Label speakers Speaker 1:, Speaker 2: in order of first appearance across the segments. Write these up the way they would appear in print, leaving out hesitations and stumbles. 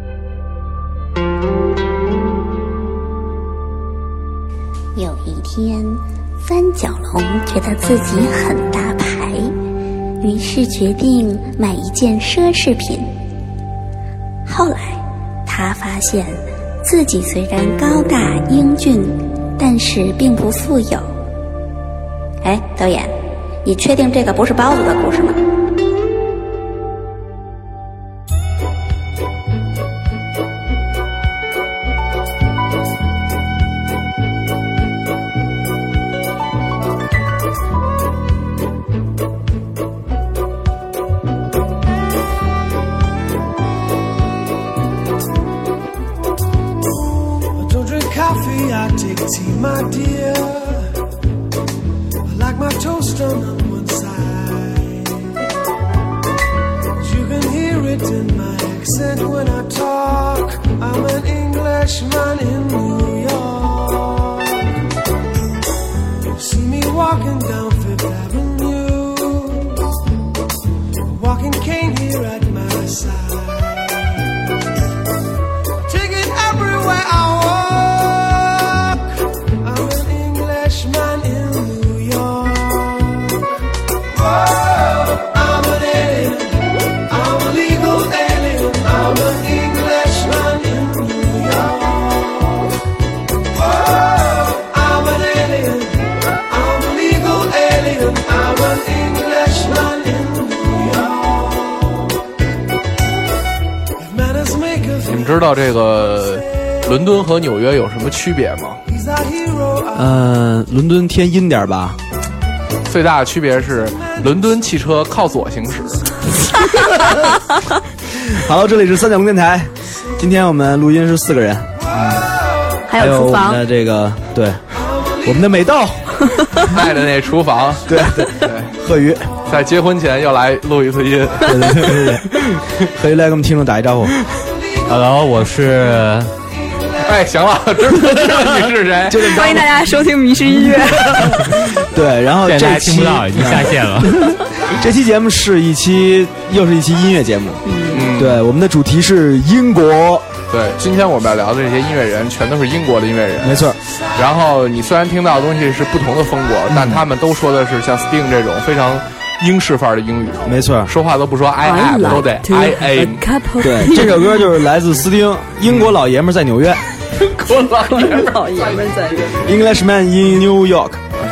Speaker 1: 有一天，三角龙觉得自己很大牌，于是决定买一件奢侈品。后来他发现自己虽然高大英俊，但是并不富有。哎，导演，你确定这个不是包子的故事吗？
Speaker 2: I take tea, my dear. I like my toast on one side. You can hear it in my accent when I talk. I'm an Englishman in New York. You see me walking down Fifth Avenue, a walking cane here at my side. Take it everywhere I walk. Man in New York. Whoa, I'm an alien. I'm a legal alien. I'm an Englishman in New York. Whoa, I'm an alien. I'm a legal alien. I'm an Englishman in New York. If manners make us.
Speaker 3: 你们知道这个伦敦和纽约有什么区别吗？
Speaker 4: 伦敦偏阴点吧。
Speaker 3: 最大的区别是，伦敦汽车靠左行驶。
Speaker 4: 好了，这里是三角龙电台，今天我们录音是4个人，
Speaker 5: 还有厨房，
Speaker 4: 我们的这个对，我们的美豆，
Speaker 3: 爱的那厨房，
Speaker 4: 对，贺宇
Speaker 3: 在结婚前又来录一次音，
Speaker 4: 对，贺宇来给我们听众打一招呼。
Speaker 6: Hello， 我是。
Speaker 3: 哎，行了，知道你是谁？
Speaker 5: 欢迎大家收听迷失音乐。
Speaker 4: 对，然后这期
Speaker 6: 听不到，已经下线了。
Speaker 4: 这期节目是又是一期音乐节目。对，我们的主题是英国。
Speaker 3: 对，今天我们要聊的这些音乐人，全都是英国的音乐人。
Speaker 4: 没错。
Speaker 3: 然后你虽然听到的东西是不同的风格，但他们都说的是像 Sting 这种非常英式范儿的英语。
Speaker 4: 没错，
Speaker 3: 说话都不说 I am， 都得 I am。
Speaker 4: 对，这首歌就是来自斯汀，英国老爷们在纽约。
Speaker 5: 英国老爷们在纽约。
Speaker 4: Englishman in New York。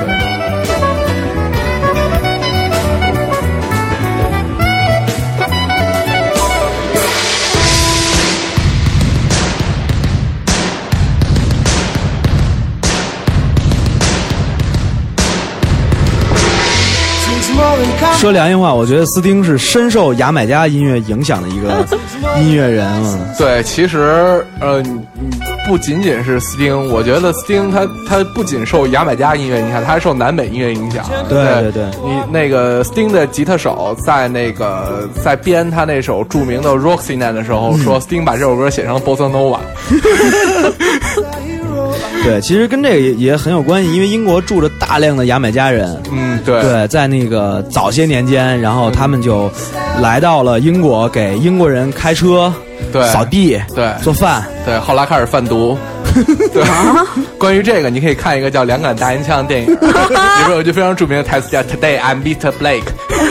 Speaker 4: 说良心话，我觉得斯汀是深受牙买加音乐影响的一个音乐人啊。
Speaker 3: 对，其实不仅仅是斯汀，我觉得斯汀他不仅受牙买加音乐影响，他还受南美音乐影响。
Speaker 4: 对，
Speaker 3: 你那个斯汀的吉他手在编他那首著名的 Roxanne 的时候，说斯汀把这首歌写成了 Bossa Nova。
Speaker 4: 对，其实跟这个也很有关系，因为英国住着大量的牙买加人。对，在那个早些年间，然后他们就来到了英国，给英国人开车、扫地、做饭。
Speaker 3: 对，后来开始贩毒。对，关于这个，你可以看一个叫《两杆大烟枪》的电影，里边有一句非常著名的台词叫 "Today I'm Mr. Blake"。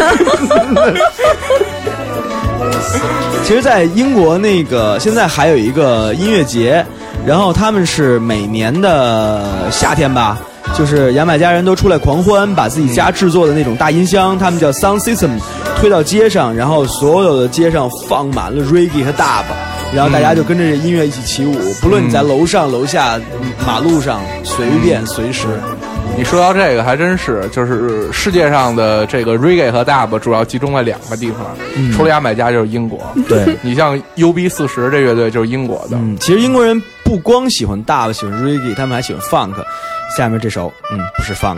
Speaker 4: 其实，在英国那个现在还有一个音乐节。然后他们是每年的夏天吧，就是牙买加人都出来狂欢，把自己家制作的那种大音箱，他们叫 sound system， 推到街上，然后所有的街上放满了 reggae 和 dub， 然后大家就跟着这音乐一起起舞，不论你在楼上楼下马路上随便随时。
Speaker 3: 你说到这个还真是，就是世界上的这个 reggae 和 dub 主要集中在2个地方，除了牙买加就是英国。
Speaker 4: 对，
Speaker 3: 你像 UB40 这乐队就是英国的。
Speaker 4: 其实英国人不光喜欢 dub， 喜欢 reggae， 他们还喜欢 funk。下面这首，不是 funk。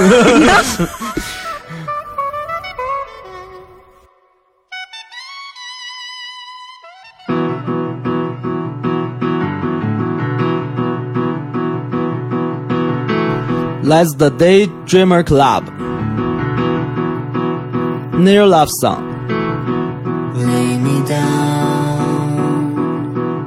Speaker 4: 来自 The Daydreamer Club Near Love Song。
Speaker 7: Lay me down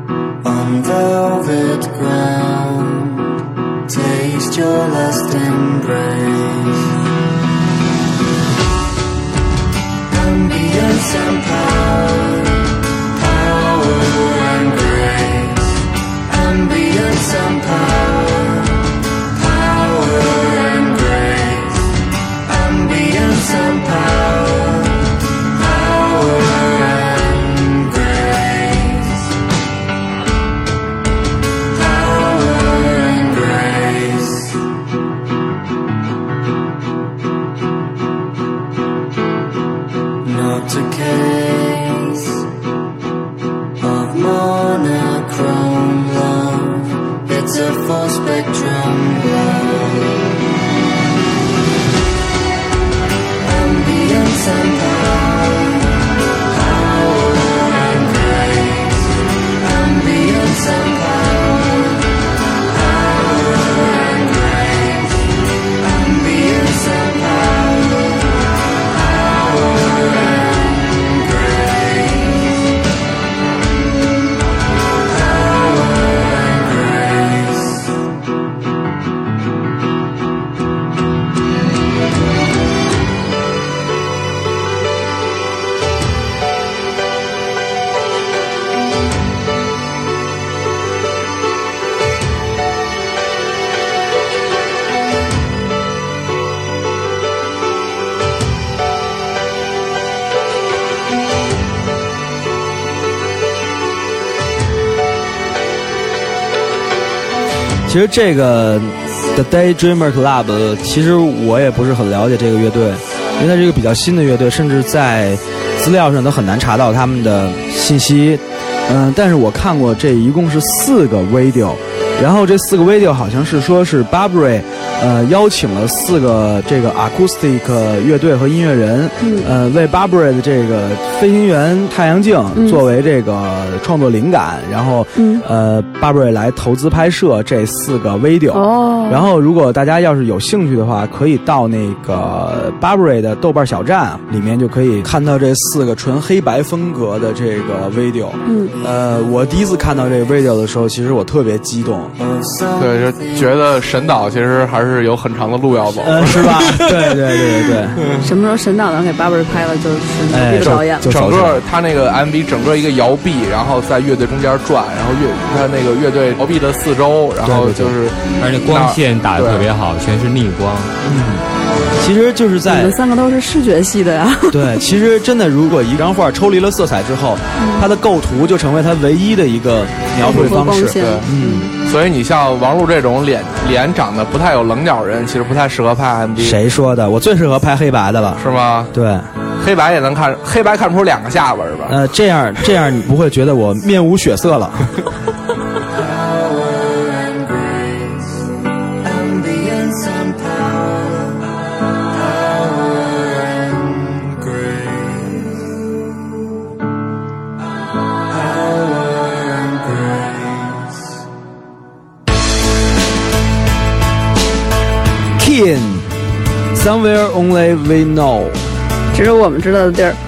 Speaker 4: 其实这个 The Daydreamer Club 其实我也不是很了解这个乐队，因为它是一个比较新的乐队，甚至在资料上都很难查到他们的信息。但是我看过这一共是4个 video， 然后这4个 video 好像是说是 Burberry 邀请了4个这个 acoustic 乐队和音乐人，为 Burberry 的这个飞行员太阳镜作为这个创作灵感，然后Burberry 来投资拍摄这4个 video。然后如果大家要是有兴趣的话，可以到那个 Burberry 的豆瓣小站里面就可以看到这4个纯黑白风格的这个 video。我第一次看到这个 video 的时候，其实我特别激动。
Speaker 3: 对，就觉得神导其实还是有很长的路要走，
Speaker 4: 是吧？对。
Speaker 5: 什么时候神导能给 Burberry 拍了，就是这个导演。
Speaker 3: 整个他那个 MV 整个一个摇臂，然后在乐队中间转，然后他那个乐队摇臂的四周，然后就是，
Speaker 6: 而且光线打得特别好，全是逆光。
Speaker 4: 其实就是在
Speaker 5: 你们3个都是视觉系的呀。
Speaker 4: 对，其实真的，如果一张画抽离了色彩之后，它的构图就成为它唯一的一个描绘方式。
Speaker 3: 对，所以你像王璐这种脸长得不太有棱角人，其实不太适合拍 MV。
Speaker 4: 谁说的？我最适合拍黑白的了，
Speaker 3: 是吗？
Speaker 4: 对，
Speaker 3: 黑白也能看，黑白看不出2个下巴是吧？
Speaker 4: 这样你不会觉得我面无血色了。Somewhere only we know，
Speaker 5: 只有我们知道的地儿。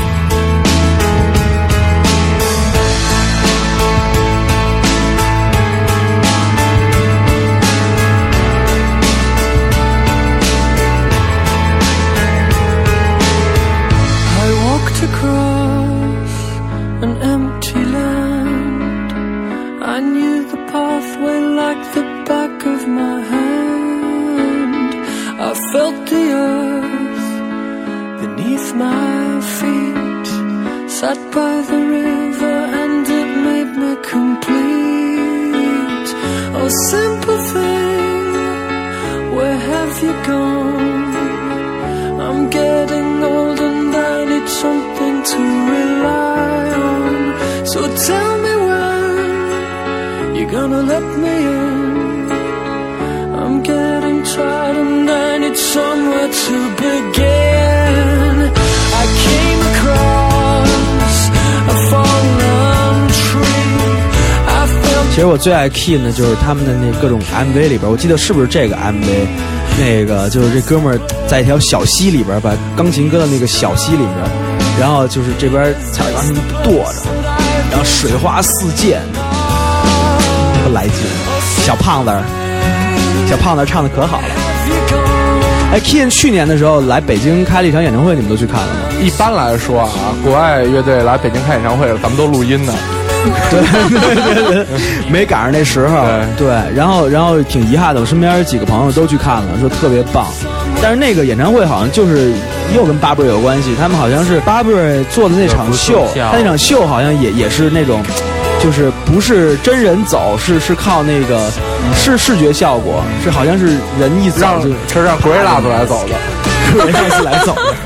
Speaker 2: I walked across an empty land. I knew the pathway like the back of my hand. I felt the earth beneath my feet, sat by the river and it made me complete. Oh, simple thing, where have you gone? I'm getting old and I need something to rely on. So tell me when you're gonna let me in. I'm getting tired and I need somewhere to begin. I came across a fallen tree. I felt
Speaker 4: 其实我最爱 Keen 的就是他们的那各种 MV 里边，我记得是不是这个 MV， 那个就是这哥们儿在一条小溪里边，把钢琴搁到那个小溪里边，然后就是这边踩着钢琴跺着，然后水花四溅，特来劲。小胖子唱的可好了。哎 ，Keen 去年的时候来北京开了一场演唱会，你们都去看了吗？
Speaker 3: 一般来说啊，国外乐队来北京开演唱会，咱们都录音呢。
Speaker 4: 对，没赶上那时候。对，然后挺遗憾的，我身边几个朋友都去看了，说特别棒。但是那个演唱会好像就是又跟 Burberry 有关系，他们好像是 Burberry 做的那场秀，他那场秀好像也是那种。就是不是真人走，是靠那个视觉效果，是好像是人一走
Speaker 3: 就是让 Gorillaz 来走的
Speaker 4: ，Gorillaz 来走的。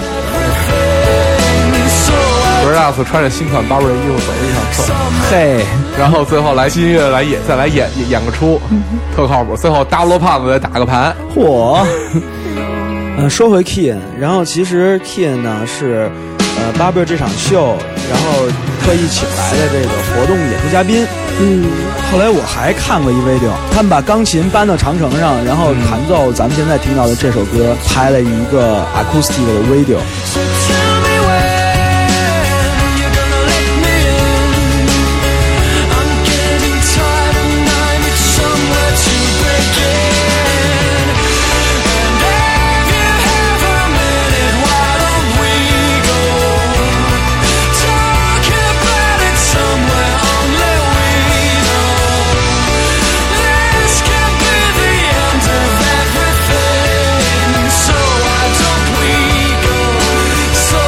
Speaker 3: Gorillaz 穿着新款 Burberry 衣服走了一场秀，
Speaker 4: 嘿，
Speaker 3: 然后最后来新乐再来演个出，特靠谱。最后大罗胖子再打个盘，
Speaker 4: 嚯！说回 Keen， 然后其实 Keen 呢是Burberry 这场秀，然后特意请来的这个活动演出嘉宾。后来我还看过一 video， 他们把钢琴搬到长城上，然后弹奏咱们现在听到的这首歌，拍了一个 acoustic 的 video。
Speaker 2: So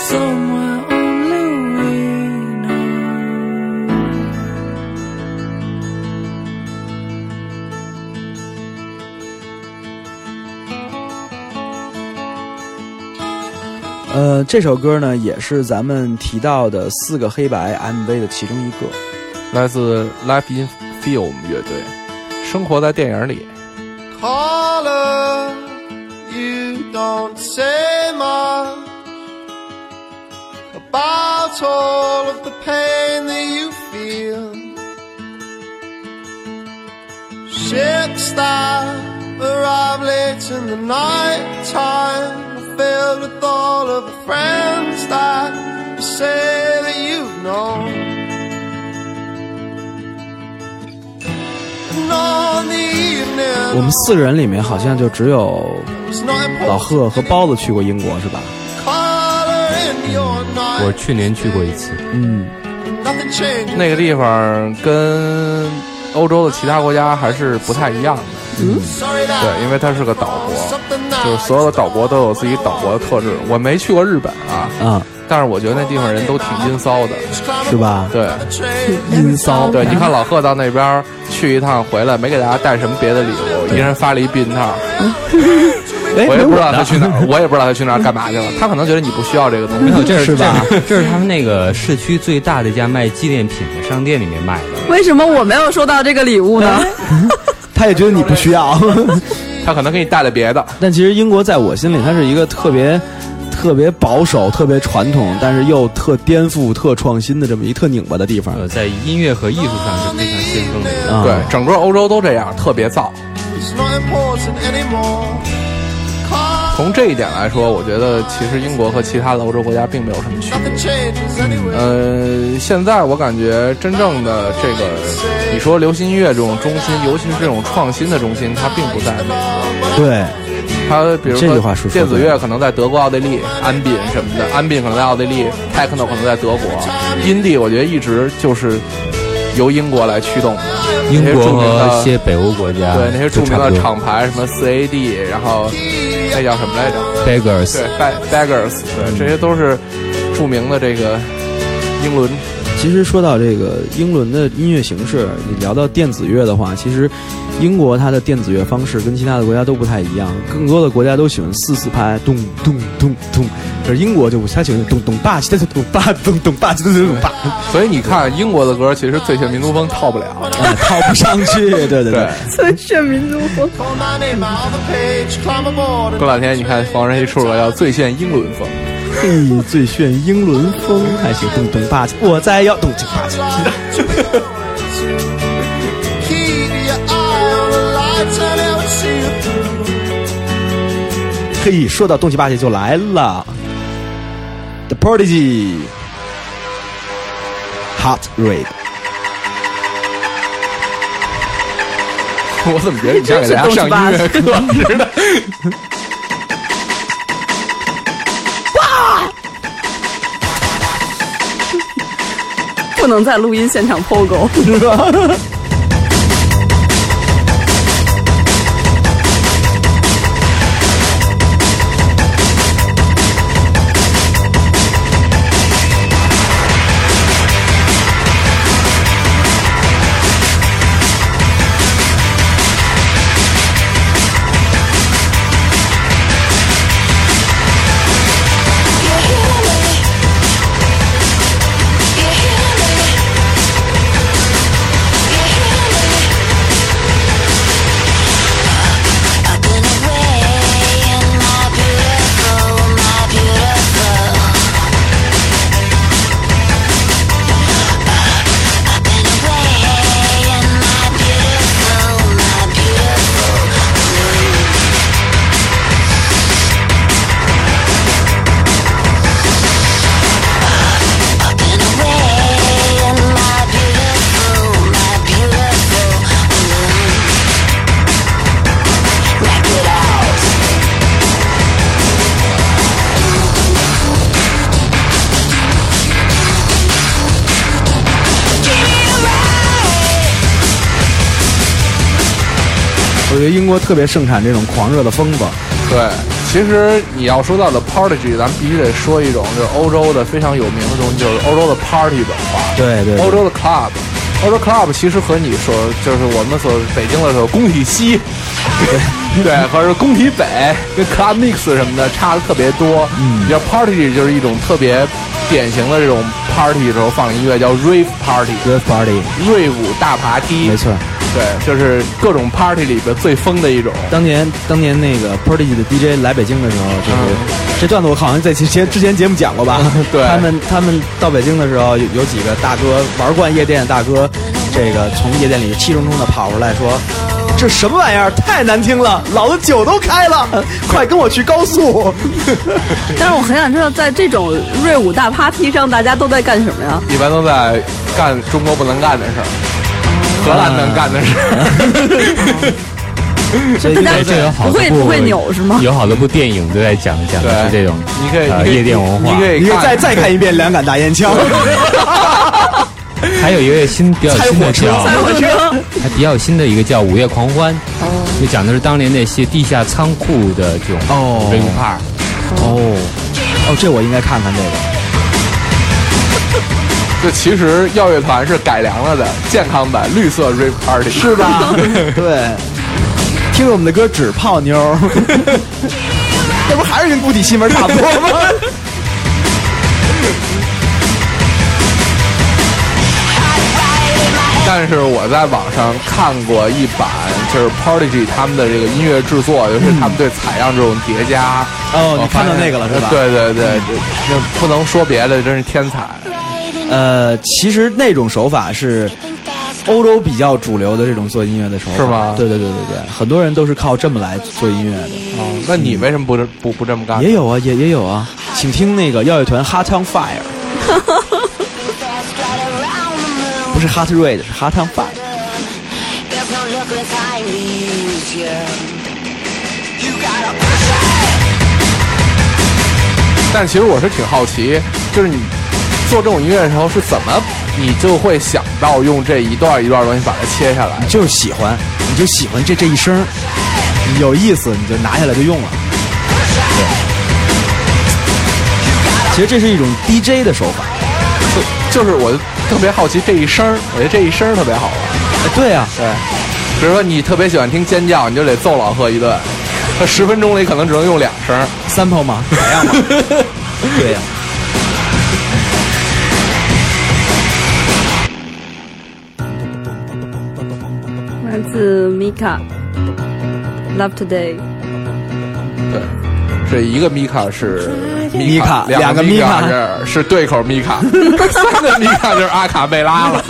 Speaker 2: somewhere only we know.
Speaker 4: 这首歌呢也是咱们提到的4个黑白 MV 的其中一个，
Speaker 3: 来自 Life in Film 乐队，生活在电影里。
Speaker 2: Caller, you don't say much about all of the pain that you feel. Ships that arrive late in the night time, filled with all of the friends that you say that you've known. And on the evening,
Speaker 4: 我们4个人里面好像就只有
Speaker 2: it's not
Speaker 4: 老
Speaker 2: important
Speaker 4: 贺和包子去过英国是吧？
Speaker 2: color in your night.
Speaker 6: 我去年去过一次，
Speaker 2: Nothing changes.
Speaker 3: 那个地方跟欧洲的其他国家还是不太一样的。
Speaker 2: Sorry that
Speaker 3: 对，因为它是个岛国，
Speaker 2: something that
Speaker 3: 就是所有的岛国都有自己岛国的特质。我没去过日本啊，但是我觉得那地方人都挺阴骚的，
Speaker 4: 是吧？
Speaker 3: 对，
Speaker 4: 阴骚。
Speaker 3: 对，你看老贺到那边去一趟回来，没给大家带什么别的礼物，一人发了一避孕套。我也不知道他去哪儿，我也不知道他去哪儿干嘛去了。他可能觉得你不需要这个东西，
Speaker 6: 没有，这
Speaker 4: 是吧？
Speaker 6: 这是他们那个市区最大的一家卖纪念品的商店里面卖的。
Speaker 5: 为什么我没有收到这个礼物呢？
Speaker 4: 他也觉得你不需要。
Speaker 3: 他可能给你带了别的。
Speaker 4: 但其实英国在我心里，它是一个特别保守、特别传统，但是又特颠覆、特创新的这么一特拧巴的地方。
Speaker 6: 在音乐和艺术上是非常先锋的一个。
Speaker 3: 对，整个欧洲都这样，特别燥。
Speaker 2: it's not important anymore.
Speaker 3: 从这一点来说，我觉得其实英国和其他的欧洲国家并没有什么区
Speaker 2: Nothing
Speaker 3: 别。
Speaker 2: changes anyway.
Speaker 3: 现在我感觉真正的这个，你说流行音乐这种中心，尤其是这种创新的中心，它并不在美国。
Speaker 4: 对，
Speaker 3: 它比如说
Speaker 4: 这句话说
Speaker 3: 电子乐可能在德国、奥地利，安宾什么的，安宾可能在奥地利 ，techno 可能在德国，indie 我觉得一直就是由英国来驱动的。
Speaker 6: 英国
Speaker 3: 那些著名的
Speaker 6: 和一些北欧国家，
Speaker 3: 对那些著名的
Speaker 6: 都差不多
Speaker 3: 厂牌，什么4AD，然后那叫什么来着？
Speaker 6: Beggars，
Speaker 3: 对，Beggars，对，这些都是著名的这个英伦。
Speaker 4: 其实说到这个英伦的音乐形式，你聊到电子乐的话，其实英国它的电子乐方式跟其他的国家都不太一样，更多的国家都喜欢4/4拍，咚咚咚咚，可是英国就不，他喜欢咚咚吧唧的咚吧咚咚吧唧的咚吧，
Speaker 3: 所以你看英国的歌，其实最炫民族风套不了，
Speaker 4: 套不上去，对对对。
Speaker 5: 最炫民族风。
Speaker 2: Call my name out the page, climb aboard.
Speaker 3: 过两天你看黄仁一出了要最炫英伦风，
Speaker 4: 嘿，最炫英伦风，还行，咚咚吧唧，我在要咚咚吧唧。
Speaker 2: Keep your eye on the lights and they'll see you through.
Speaker 4: 嘿，说到东西吧唧就来了 ，The Prodigy Hot Red。
Speaker 3: 我怎么觉得你像给大家上音乐课似的？
Speaker 5: 不能在录音现场 POGO
Speaker 4: 是吧？我觉得英国特别盛产这种狂热的风吧。
Speaker 3: 对， 其实你要说到的 Prodigy， 咱们必须得说一种就是欧洲的非常有名的东西，就是欧洲的 party 文化。
Speaker 4: 对对，
Speaker 3: 欧洲的 club， 欧洲 club 其实和你所就是我们所北京的时候工体西，对，和是工体北跟 club mix 什么的差的特别多。比较 party 就是一种特别典型的这种 party 的时候放音乐叫 rave party，rave
Speaker 4: party，
Speaker 3: 瑞舞大爬梯，
Speaker 4: 没错。
Speaker 3: 对，就是各种 party 里边最疯的一种。
Speaker 4: 当年那个 Prodigy 的 DJ 来北京的时候，就是这段子我好像在之前节目讲过吧？
Speaker 3: 对，
Speaker 4: 他们到北京的时候，有几个大哥玩惯夜店的大哥，这个从夜店里气冲冲的跑出来说：“这什么玩意儿？太难听了！老子酒都开了，快跟我去高速！”
Speaker 5: 但是我很想知道，在这种瑞舞大 party 上，大家都在干什么呀？
Speaker 3: 一般都在干中国不能干的事儿。荷兰能干的事，
Speaker 6: 所以这有好多
Speaker 5: 不会扭是吗？
Speaker 6: 有好多部电影都在讲的是这种，
Speaker 3: 你可以
Speaker 6: 夜店文化，
Speaker 3: 你可以
Speaker 4: 再看一遍《两杆大烟枪》。
Speaker 6: 还有一个比较新的叫还比较新的一个叫《午夜狂欢》，就讲的是当年那些地下仓库的这种 rave party。
Speaker 4: 这我应该看看这个。
Speaker 3: 这其实耀乐团是改良了的健康版绿色 rave party，
Speaker 4: 是吧？对，听着我们的歌只泡妞，这不还是跟固体西门差不多吗？
Speaker 3: 但是我在网上看过一版，就是 Prodigy 他们的这个音乐制作，尤其是他们对采样这种叠加。
Speaker 4: 你看到那个了是吧？
Speaker 3: 对对对，这不能说别的，真是天才。
Speaker 4: 其实那种手法是欧洲比较主流的这种做音乐的手法，
Speaker 3: 是吗？
Speaker 4: 对，很多人都是靠这么来做音乐的。
Speaker 3: 那你为什么不这么干？
Speaker 4: 也有啊，也有啊，请听那个耀乐团 Hot on Fire， 不是 Hot Red， 是 Hot on Fire。
Speaker 3: 但其实我是挺好奇，就是你做这种音乐的时候是怎么，你就会想到用这一段一段东西把它切下来？
Speaker 4: 就是喜欢，你就喜欢这一声，有意思，你就拿下来就用了。对，其实这是一种 DJ 的手法，
Speaker 3: 就是我特别好奇这一声，我觉得这一声特别好玩。
Speaker 4: 对啊，
Speaker 3: 对，比如说你特别喜欢听尖叫，你就得揍老贺一顿，他10分钟里可能只能用2声
Speaker 4: ，sample 吗？采样吗？对呀。
Speaker 5: 来自 Mika Love Today。
Speaker 3: 对，这一个 Mika 是
Speaker 4: 米卡，
Speaker 3: 两个
Speaker 4: Mika
Speaker 3: 是对口 Mika， 3个 Mika 就是阿卡贝拉了。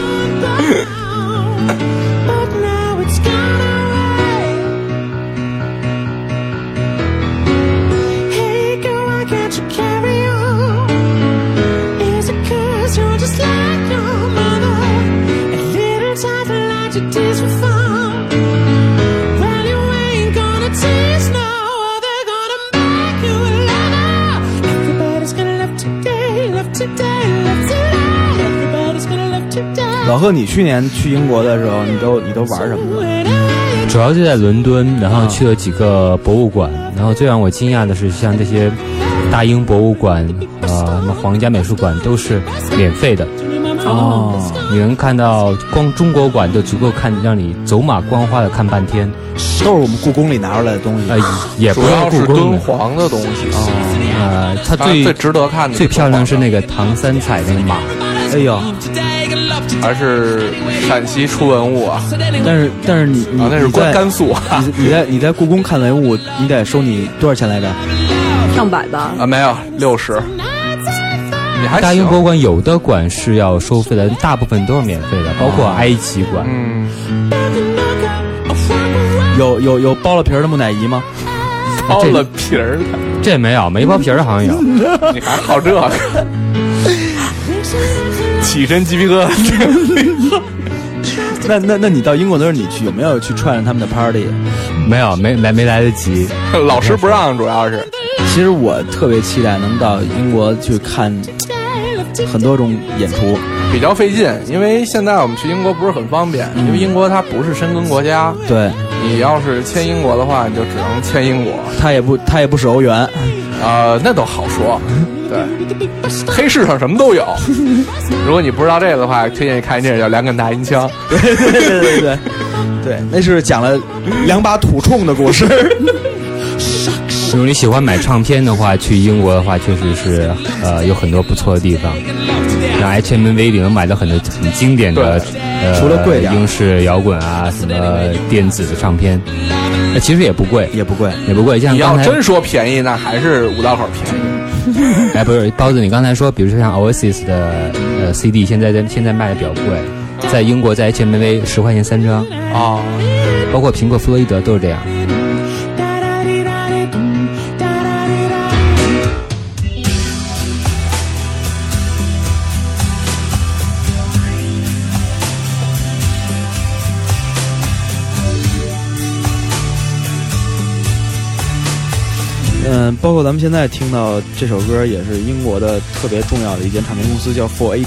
Speaker 4: 老贺，你去年去英国的时候，你都玩什么？
Speaker 6: 主要就在伦敦，然后去了几个博物馆，然后最让我惊讶的是，像这些大英博物馆、什么皇家美术馆都是免费的。你能看到光中国馆都足够让你走马观花的看半天，
Speaker 4: 都是我们故宫里拿出来的东西。
Speaker 6: 也不
Speaker 3: 主要是敦
Speaker 6: 是故宫
Speaker 3: 煌的东西。
Speaker 6: 它
Speaker 3: 最值得看的、
Speaker 6: 最漂亮是那个唐三彩那个马。
Speaker 4: 哎呦，
Speaker 3: 还是陕西出文物啊！
Speaker 4: 但是你
Speaker 3: 那是甘肃啊！
Speaker 4: 你在故宫看文物，你得收你多少钱来着？
Speaker 5: 上百吧？
Speaker 3: 没有60。你还
Speaker 6: 大英博物馆有的馆是要收费的，大部分都是免费的，包括埃及馆。
Speaker 4: 有剥了皮儿的木乃伊吗？
Speaker 3: 剥了皮儿的，
Speaker 6: 这没有，没剥皮儿的好像有。
Speaker 3: 你还好这个？起身鸡皮疙瘩。
Speaker 4: 那你到英国的时候，你有没有去串上他们的 party？
Speaker 6: 没有，没来得及，
Speaker 3: 老师不让，主要是。
Speaker 4: 其实我特别期待能到英国去看很多种演出，
Speaker 3: 比较费劲，因为现在我们去英国不是很方便，因为英国它不是申根国家。
Speaker 4: 对，
Speaker 3: 你要是签英国的话，你就只能签英国。
Speaker 4: 他也不使欧元，
Speaker 3: 那都好说。对，黑市上什么都有。如果你不知道这个的话，推荐你看一电影叫《两杆大银枪》。
Speaker 4: 对，那是讲了2把土铳的故事。
Speaker 6: 如果你喜欢买唱片的话，去英国的话，确实是有很多不错的地方。像 HMV 里能买到很多很经典的
Speaker 4: 除了贵点
Speaker 6: 英式摇滚啊，什么电子的唱片，其实也不贵。像
Speaker 3: 你要
Speaker 6: 刚才
Speaker 3: 真说便宜，那还是五道口便宜。
Speaker 6: 不是包子，你刚才说，比如说像 Oasis 的CD，现在卖的比较贵，在英国在 HMV 10块钱3张
Speaker 3: 啊，
Speaker 6: 包括苹果、弗洛伊德都是这样。
Speaker 4: 包括咱们现在听到这首歌，也是英国的特别重要的一间唱片公司，叫 4AD。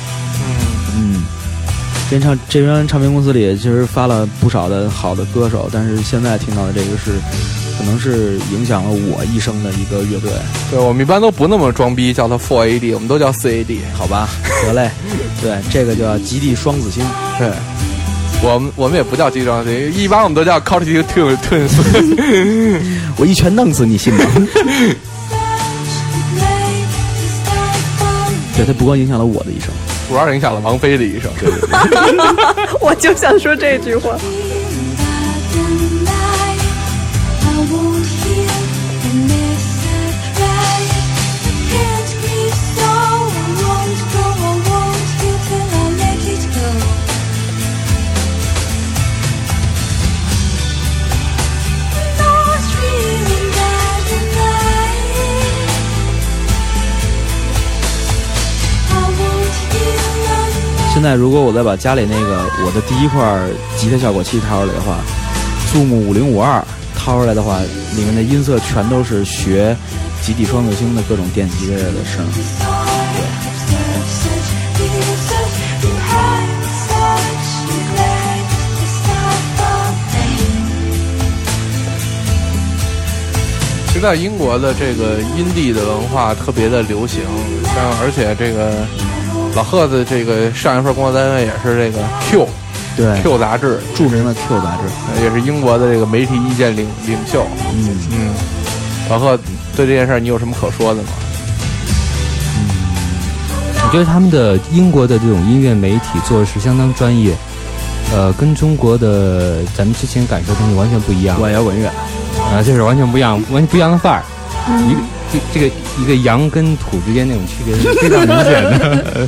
Speaker 4: 这边唱片公司里其实发了不少的好的歌手，但是现在听到的这个可能是影响了我一生的一个乐队。
Speaker 3: 对，我们一般都不那么装逼，叫它 4AD， 我们都叫 4AD，
Speaker 4: 好吧？得嘞，对，这个叫极地双子星。
Speaker 3: 对。我们也不叫极地双子星，一般我们都叫 Cognitive Twins。
Speaker 4: 我一拳弄死你，信吗？对，它不光影响了我的一生，
Speaker 3: 主要影响了王菲的一生。
Speaker 4: 对。
Speaker 5: 我就想说这句话。
Speaker 4: 现在如果我再把家里那个我的第一块吉他效果器掏出来的话，Zoom 5052掏出来的话，里面的音色全都是学极地双子星的各种电吉他的声。
Speaker 3: 其实在英国的这个阴地的文化特别的流行，而且这个老贺的这个上一份工作单位也是这个 Q 杂志，
Speaker 4: 著名的 Q 杂志，
Speaker 3: 也是英国的这个媒体意见领袖。老贺对这件事你有什么可说的吗？
Speaker 6: 我觉得他们的英国的这种音乐媒体做的是相当专业，跟中国的咱们之前感受的东西完全不一样。
Speaker 4: 摇滚乐
Speaker 6: 这是完全不一样的范儿。一个洋跟土之间那种区别是非常明显的。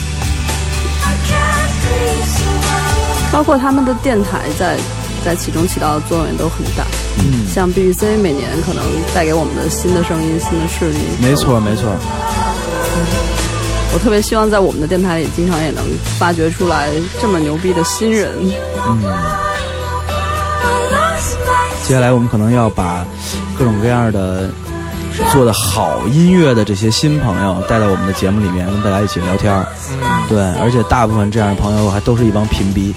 Speaker 5: 包括他们的电台在其中起到的作用也都很大。像 BBC 每年可能带给我们的新的声音、新的势力。
Speaker 4: 没错。
Speaker 5: 我特别希望在我们的电台里，经常也能发掘出来这么牛逼的新人。
Speaker 4: 接下来我们可能要把各种各样的做的好音乐的这些新朋友带到我们的节目里面，跟大家一起聊天。对，而且大部分这样的朋友还都是一帮贫逼。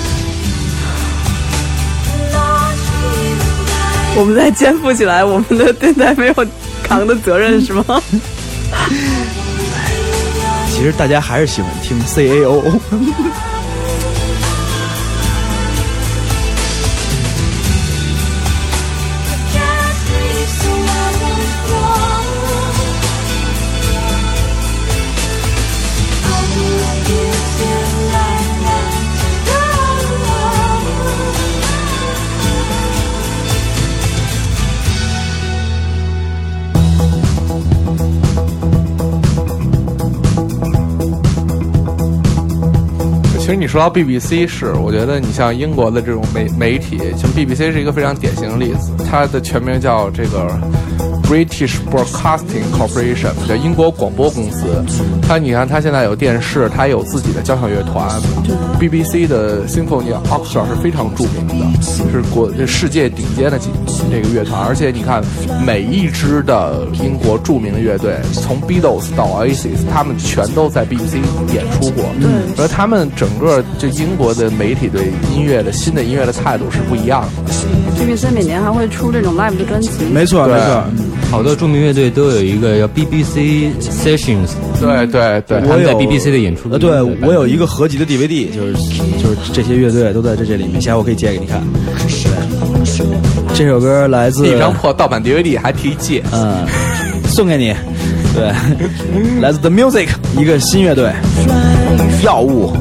Speaker 5: 我们在肩负起来我们的电台没有扛的责任是吗？
Speaker 4: 其实大家还是喜欢听 CAO。
Speaker 3: 其实你说到 BBC 我觉得你像英国的这种媒体，像 BBC 是一个非常典型的例子，它的全名叫这个 British Broadcasting Corporation， 叫英国广播公司。你看，它现在有电视，它有自己的交响乐团。BBC 的 Symphony Orchestra 是非常著名的，是世界顶尖的这个乐团。而且你看，每一支的英国著名的乐队，从 Beatles 到 Oasis， 他们全都在 BBC 演出过。而他们整个就英国的媒体对新的音乐的态度是不一样的。
Speaker 5: BBC 每年还会出这种 live 的专辑。
Speaker 4: 没错，没错。
Speaker 6: 好多著名乐队都有一个叫 BBC Sessions，
Speaker 3: 对，
Speaker 6: 他们在 BBC 的演出。
Speaker 4: 对，我有一个合集的 DVD， 就是这些乐队都在这里面，下回我可以借给你看。对，这首歌来自
Speaker 3: 一张破盗版 DVD， 还提借，
Speaker 4: 送给你。对，来自 The Music， 一个新乐队，药物。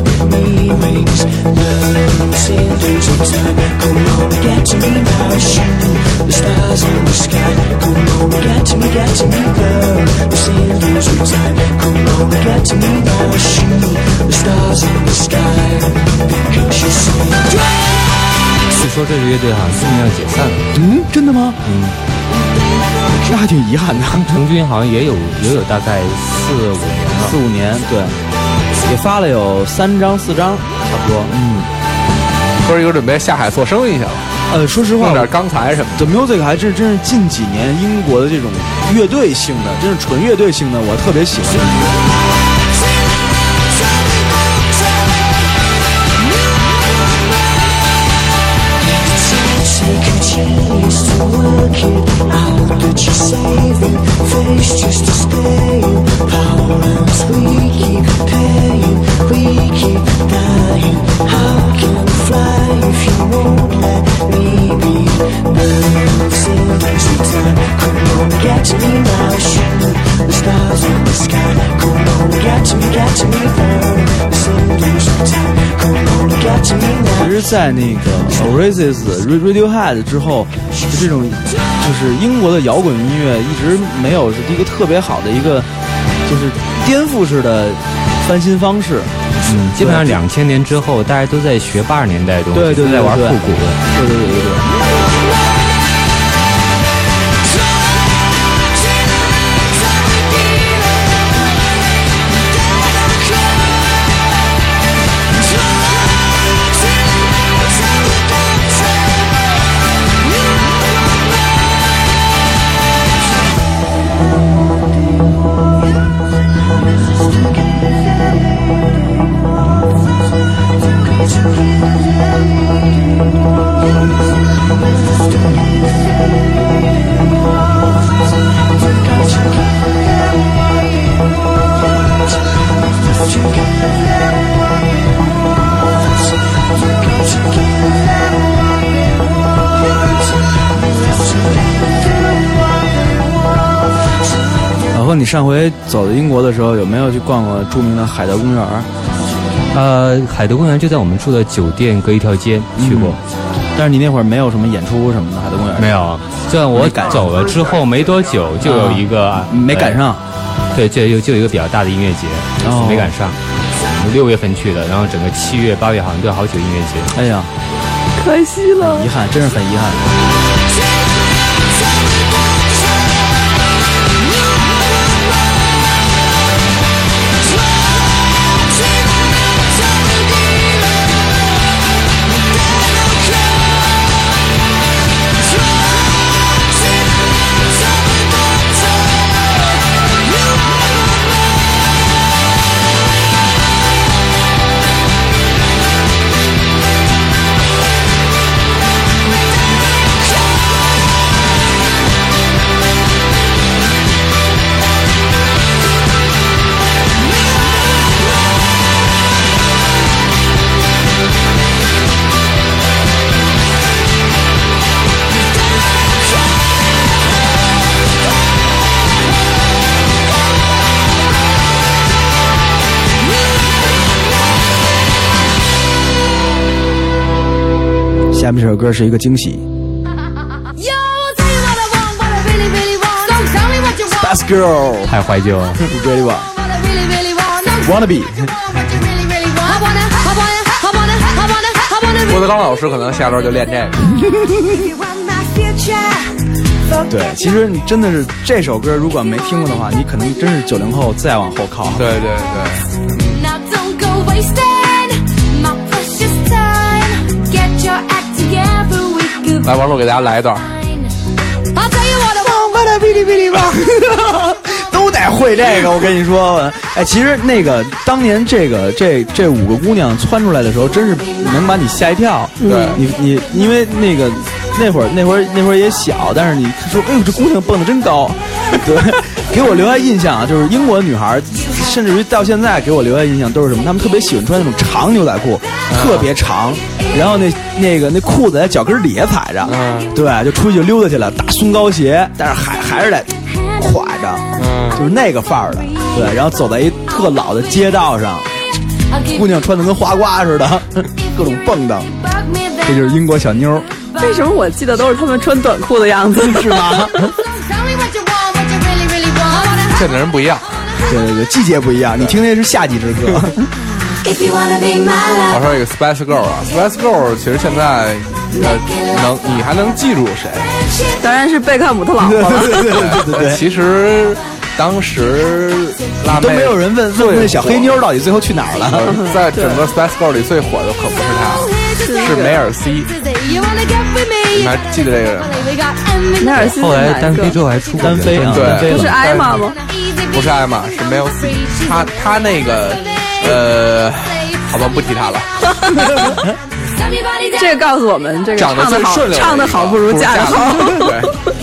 Speaker 6: 据说这支乐队好像今年要解散了。
Speaker 4: 真的吗？那还挺遗憾的。
Speaker 6: 成军好像也有大概4-5年了。
Speaker 4: 对，也发了有3张4张，差不多。
Speaker 3: 哥一个准备下海做生意去了。
Speaker 4: 说实话，
Speaker 3: 弄点钢材什么
Speaker 4: 的。The Music 还真是近几年英国的这种乐队性的，真是纯乐队性的，我特别喜欢。其实在那个 Oasis、Radiohead 之后，就这种就是英国的摇滚音乐一直没有是一个特别好的一个就是颠覆式的翻新方式。
Speaker 6: 基本上2000年之后，大家都在学80年代的东西，
Speaker 4: 对，
Speaker 6: 都在玩复古。
Speaker 4: 对。你上回走到英国的时候，有没有去逛过著名的海德公园？
Speaker 6: 海德公园就在我们住的酒店隔一条街，去过。
Speaker 4: 但是你那会儿没有什么演出什么的，海德公园
Speaker 6: 没有。就像我走了之后没多久，就有一个
Speaker 4: 没赶上。
Speaker 6: 对，就有一个比较大的音乐节，没赶上。6月份去的，然后整个7月、8月好像都有好几个音乐节。
Speaker 4: 哎呀，
Speaker 5: 可惜了，
Speaker 4: 遗憾，真是很遗憾。下面这首歌是一个惊喜。Best Girl
Speaker 6: 太怀旧了。
Speaker 4: Really wanna be。
Speaker 3: 郭德纲老师可能下周就练这个。
Speaker 4: 对，其实你真的是这首歌，如果没听过的话，你可能真是90后再往后靠。
Speaker 3: 对对对。来，王璐给大家来一段。
Speaker 4: 哔哩哔哩吧，都得会这个。我跟你说，哎，其实那个当年这5个姑娘窜出来的时候，真是能把你吓一跳。
Speaker 3: 对，
Speaker 4: 你因为那会儿也小，但是你说，哎呦，这姑娘蹦得真高。对，给我留下印象啊，就是英国女孩，甚至于到现在给我留下印象都是什么？她们特别喜欢穿那种长牛仔裤，特别长，然后那裤子在脚跟底下踩着，对，就出去就溜达去了，大松糕鞋，但是还是得挎着，就是那个范儿的，对，然后走在一特老的街道上，姑娘穿的跟花瓜似的，各种蹦跶，这就是英国小妞。
Speaker 5: 为什么我记得都是他们穿短裤的样子？
Speaker 4: 是吗？
Speaker 3: 现在人不一样，
Speaker 4: 对，季节不一样。你听那是夏季之歌。
Speaker 3: 我说一个 Spice Girl 啊 ，Spice Girl 其实现在你还能记住谁？
Speaker 5: 当然是贝克汉姆他老婆了。
Speaker 4: 对。
Speaker 3: 其实当时辣妹
Speaker 4: 都没有人问那小黑妞到底最后去哪儿了。
Speaker 3: 在整个 Spice Girl 里最火的可不是她，是梅尔西。你还记得这个人吗？
Speaker 5: 梅尔西
Speaker 6: 后来单飞之后还出
Speaker 4: 单飞啊，
Speaker 3: 对，
Speaker 5: 不是艾玛吗？
Speaker 3: 不是艾玛，是梅尔西。他那个好吧，不提他了。
Speaker 5: 这个告诉我们，这个
Speaker 3: 长得最顺溜，
Speaker 5: 唱得好不如嫁得好。
Speaker 3: 对。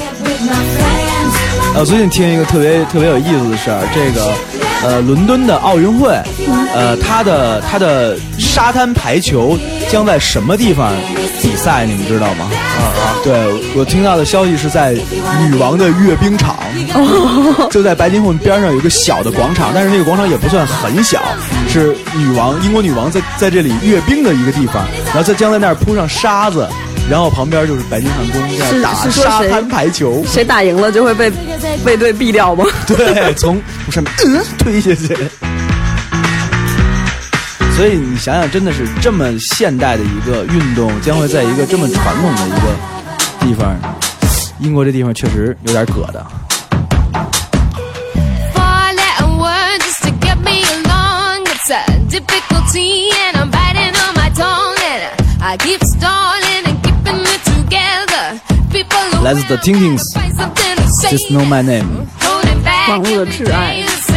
Speaker 4: 最近听一个特别有意思的事儿，这个伦敦的奥运会，它的沙滩排球将在什么地方比赛？你们知道吗？对，我听到的消息是在女王的阅兵场，就在白金汉边上有一个小的广场，但是那个广场也不算很小，是英国女王在这里阅兵的一个地方，然后将在那儿铺上沙子。然后旁边就是白金汉宫在打沙滩排球，
Speaker 5: 谁打赢了就会被卫队毙掉吗？
Speaker 4: 对，从上面推下去。所以你想想，真的是这么现代的一个运动，将会在一个这么传统的一个地方，英国这地方确实有点葛的。来自 The Tinkings Just Know My Name
Speaker 5: 网络的挚爱。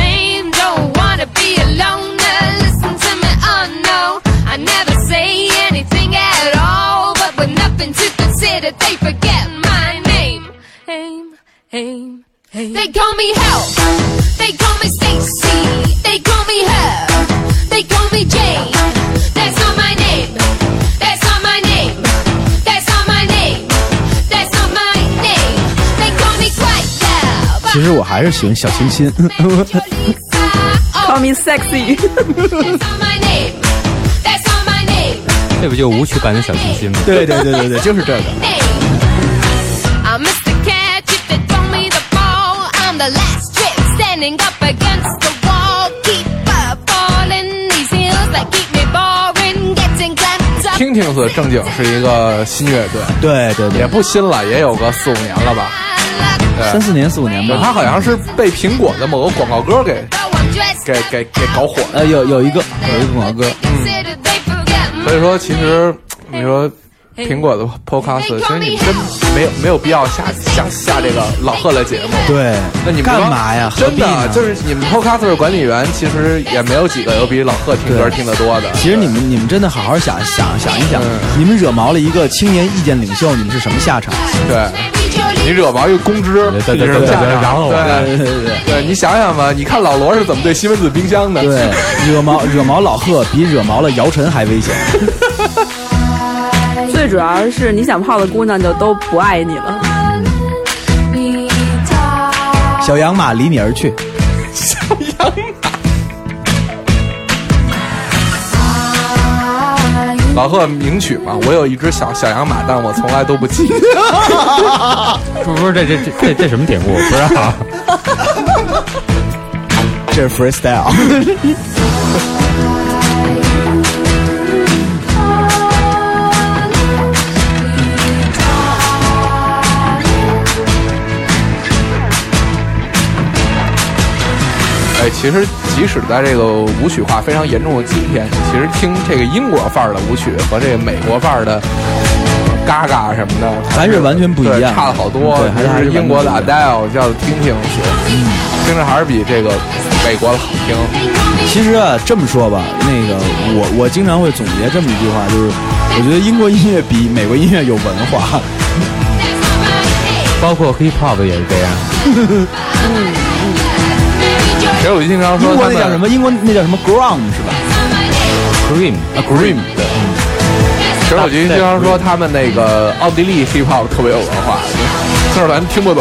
Speaker 7: They call me Hell, they call me Stacy, they call me Her, they call me Jane. That's not my name, that's not my name, that's not my name, that's not my name. They call me Quiet Girl.
Speaker 4: 其实我还是喜欢小清新。
Speaker 5: Call me sexy.
Speaker 7: That's not my name, that's not my name.
Speaker 6: 这不就舞曲版的小清新吗？
Speaker 4: 对，就是这个。
Speaker 7: I'm Mr. Catch if they throw me the ball. I'm the last trick standing up against the wall. Keep up falling these hills that keep me boring. Getting clamped up.
Speaker 3: Tinkings 正经是一个新乐队，
Speaker 4: 对，
Speaker 3: 也不新了，也有个4-5年了吧
Speaker 4: ，3-4年4-5年吧。
Speaker 3: 他好像是被苹果的某个广告歌给搞火了。
Speaker 4: 有一个广告歌。
Speaker 3: 所以说，其实你说苹果的 podcast， 其实你真没有必要下这个老贺的节目。
Speaker 4: 对，
Speaker 3: 那你们
Speaker 4: 干嘛呀？
Speaker 3: 真的就是你们 podcast 管理员，其实也没有几个有比老贺听歌听得多的。
Speaker 4: 其实你们真的好好想一想，你们惹毛了一个青年意见领袖，你们是什么下场？
Speaker 3: 对，你惹毛一个公知，
Speaker 6: 对，然后
Speaker 3: 对，你想想吧，你看老罗是怎么对西门子冰箱的？
Speaker 4: 对，惹毛老贺比惹毛了姚晨还危险。
Speaker 5: 最主要是你想泡的姑娘就都不爱你了。
Speaker 4: 小洋马离你而去。
Speaker 3: 小洋马。老贺名曲嘛，我有一只小洋马，但我从来都不骑。
Speaker 6: 不是这什么典故？不知道。
Speaker 4: 这是 freestyle。
Speaker 3: 其实即使在这个舞曲化非常严重的今天，其实听这个英国范儿的舞曲和这个美国范儿的嘎嘎什么的，
Speaker 4: 还是完全不一样，
Speaker 3: 差了好多。
Speaker 4: 对，
Speaker 3: 还是英国的 Adele 叫听听，听着还是比这个美国的好听。
Speaker 4: 其实啊，这么说吧，那个我经常会总结这么一句话，就是我觉得英国音乐比美国音乐有文化，
Speaker 6: 包括 hip hop 也是这样。
Speaker 3: 其实我经常说，
Speaker 4: 英国那叫什么？英国那叫什么 ground 是吧
Speaker 6: Cream
Speaker 4: 啊 ，cream 对。
Speaker 3: 其实我经常说他们那个奥地利 hip hop 特别有文化，虽然咱听不懂。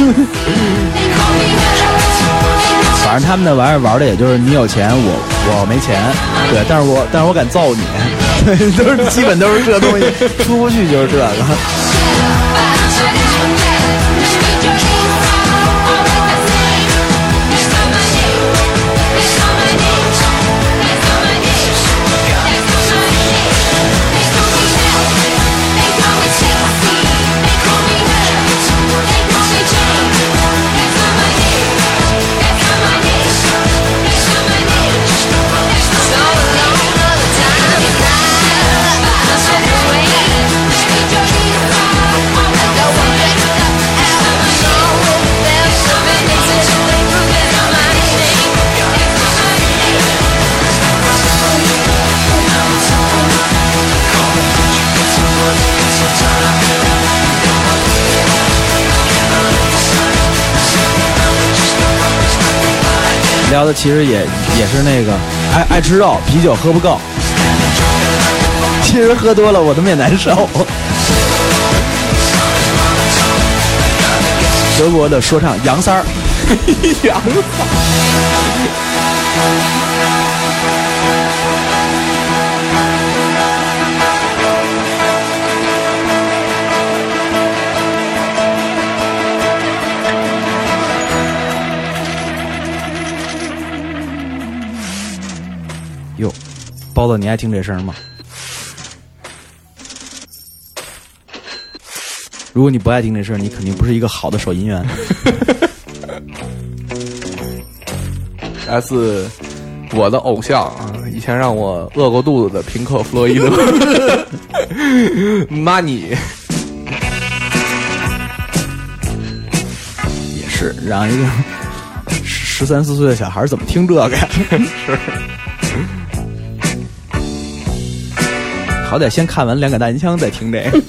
Speaker 4: 反正他们那玩意儿玩的也就是你有钱我没钱，对，但是我敢揍你，对，基本都是这东西，出不去就是这个。聊的其实也是那个爱吃肉，啤酒喝不够，其实喝多了我他妈也难受。德国的说唱杨三儿，
Speaker 3: 杨三
Speaker 4: 哟，包子，你爱听这声吗？如果你不爱听这声，你肯定不是一个好的手音员。
Speaker 3: 来自我的偶像啊，以前让我饿过肚子的平克·弗洛伊德，Money
Speaker 4: 也是让一个13、14岁的小孩怎么听这个呀？
Speaker 3: 是。
Speaker 4: 好歹先看完两杆大银枪再听这个。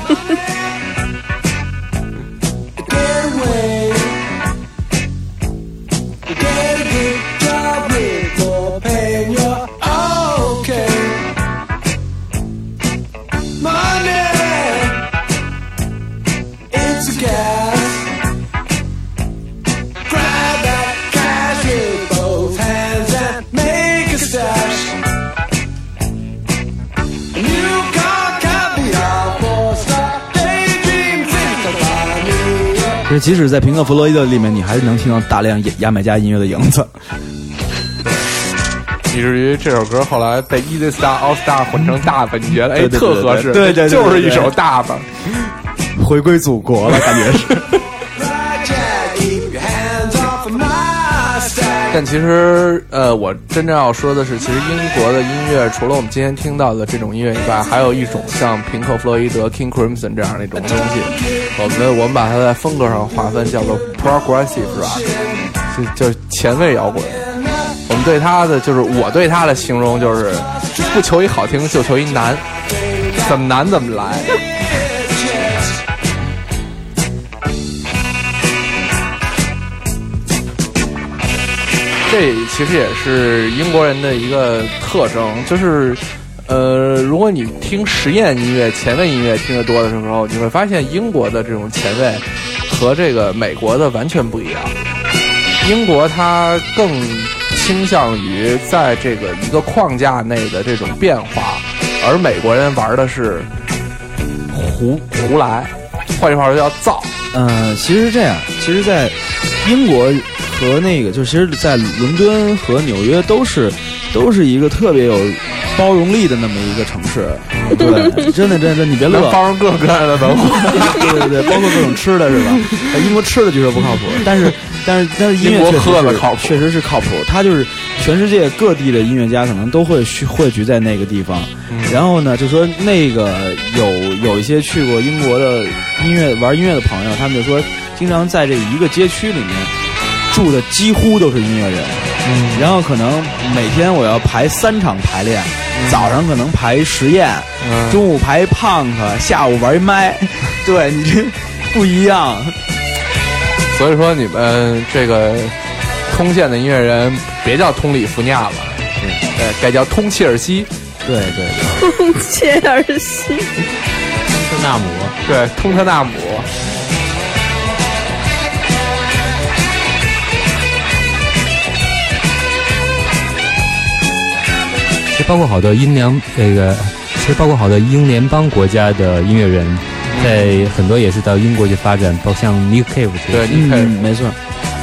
Speaker 4: 即使在平克·弗洛伊德里面，你还是能听到大量牙买加音乐的影子，
Speaker 3: 以至于这首歌后来被 Easy Star All Star 混成大本，你觉得特合适？
Speaker 4: 对，
Speaker 3: 就是一首大本，
Speaker 4: 回归祖国了，感觉是。
Speaker 3: 但其实，我真正要说的是，其实英国的音乐除了我们今天听到的这种音乐以外，还有一种像平克·弗洛伊德 King Crimson 这样的一种东西，我们把它在风格上划分叫做 Progressive Rock， 就是前卫摇滚。我们对它的就是我对它的形容就是不求一好听，就求一难，怎么难怎么来。这其实也是英国人的一个特征，就是如果你听实验音乐、前卫音乐听得多的时候，你会发现英国的这种前卫和这个美国的完全不一样。英国它更倾向于在这个一个框架内的这种变化，而美国人玩的是胡来，换句话说叫造。
Speaker 4: 其实是这样，其实在英国和那个，就其实在伦敦和纽约都是一个特别有包容力的那么一个城市。对，真的，你别乐，
Speaker 3: 能包容各种各样的文化。
Speaker 4: 对，包括各种吃的是吧？英国吃的据说不靠谱，但是但是音乐
Speaker 3: 英国喝的靠谱，
Speaker 4: 确实是靠谱。他就是全世界各地的音乐家可能都会汇聚在那个地方。然后呢，就说那个有一些去过英国的玩音乐的朋友，他们就说，经常在这一个街区里面住的几乎都是音乐人。然后可能每天我要排3场排练，早上可能排实验，中午排 punk， 下午玩麦。对，你这不一样。
Speaker 3: 所以说你们这个通县的音乐人别叫通里弗尼亚了，对，该叫通切尔西。
Speaker 4: 对，
Speaker 5: 通切尔西，
Speaker 6: 通特纳姆，
Speaker 3: 对，通特纳姆。
Speaker 6: 其实包括好多其实包括好多英联邦国家的音乐人，在很多也是到英国去发展，包括像 Nick Cave，
Speaker 3: 对，Nick Cave，
Speaker 4: 没错。